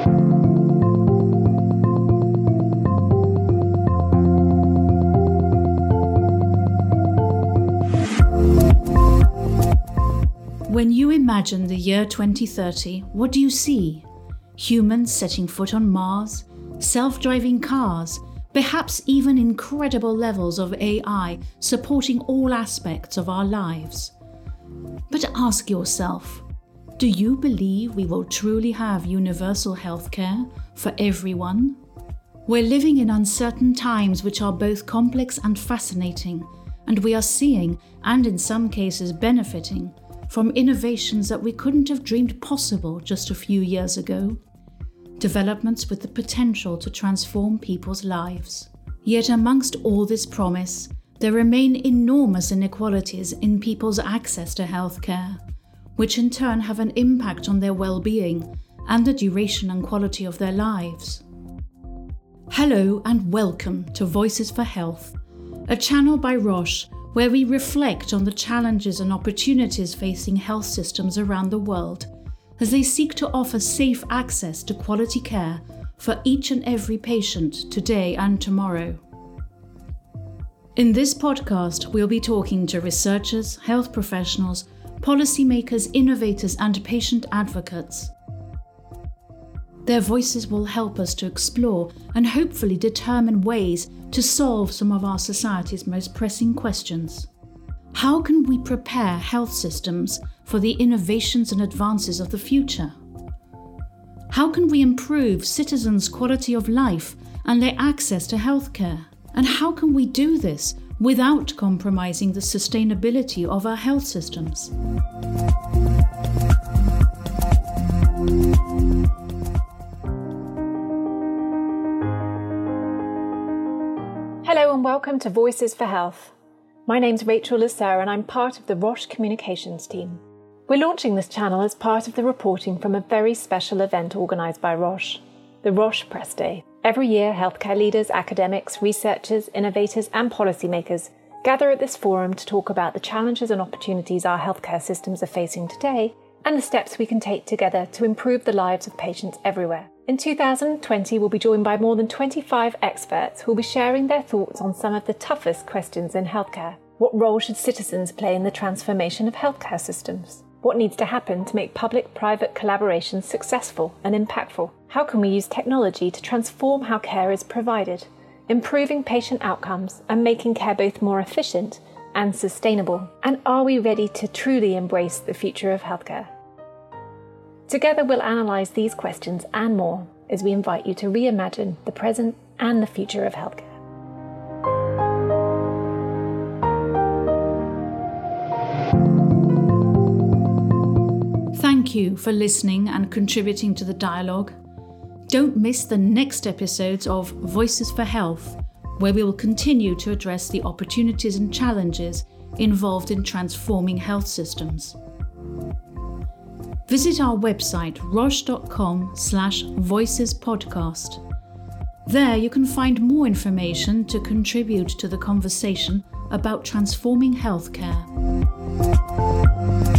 When you imagine the year 2030, what do you see? Humans setting foot on Mars, self-driving cars, perhaps even incredible levels of AI supporting all aspects of our lives. But ask yourself, do you believe we will truly have universal healthcare for everyone? We're living in uncertain times which are both complex and fascinating, and we are seeing, and in some cases benefiting, from innovations that we couldn't have dreamed possible just a few years ago. Developments with the potential to transform people's lives. Yet amongst all this promise, there remain enormous inequalities in people's access to healthcare, which in turn have an impact on their well-being and the duration and quality of their lives. Hello and welcome to Voices for Health, a channel by Roche where we reflect on the challenges and opportunities facing health systems around the world as they seek to offer safe access to quality care for each and every patient today and tomorrow. In this podcast, we'll be talking to researchers, health professionals, policymakers, innovators, and patient advocates. Their voices will help us to explore and hopefully determine ways to solve some of our society's most pressing questions. How can we prepare health systems for the innovations and advances of the future? How can we improve citizens' quality of life and their access to healthcare? And how can we do this without compromising the sustainability of our health systems? Hello and welcome to Voices for Health. My name's Rachel Lasser and I'm part of the Roche Communications team. We're launching this channel as part of the reporting from a very special event organised by Roche, the Roche Press Day. Every year, healthcare leaders, academics, researchers, innovators and policymakers gather at this forum to talk about the challenges and opportunities our healthcare systems are facing today and the steps we can take together to improve the lives of patients everywhere. In 2020, we'll be joined by more than 25 experts who will be sharing their thoughts on some of the toughest questions in healthcare. What role should citizens play in the transformation of healthcare systems? What needs to happen to make public-private collaboration successful and impactful? How can we use technology to transform how care is provided, improving patient outcomes and making care both more efficient and sustainable? And are we ready to truly embrace the future of healthcare? Together we'll analyse these questions and more as we invite you to reimagine the present and the future of healthcare. Thank you for listening and contributing to the dialogue. Don't miss the next episodes of Voices for Health, where we will continue to address the opportunities and challenges involved in transforming health systems. Visit our website roche.com/voicespodcast. There you can find more information to contribute to the conversation about transforming healthcare.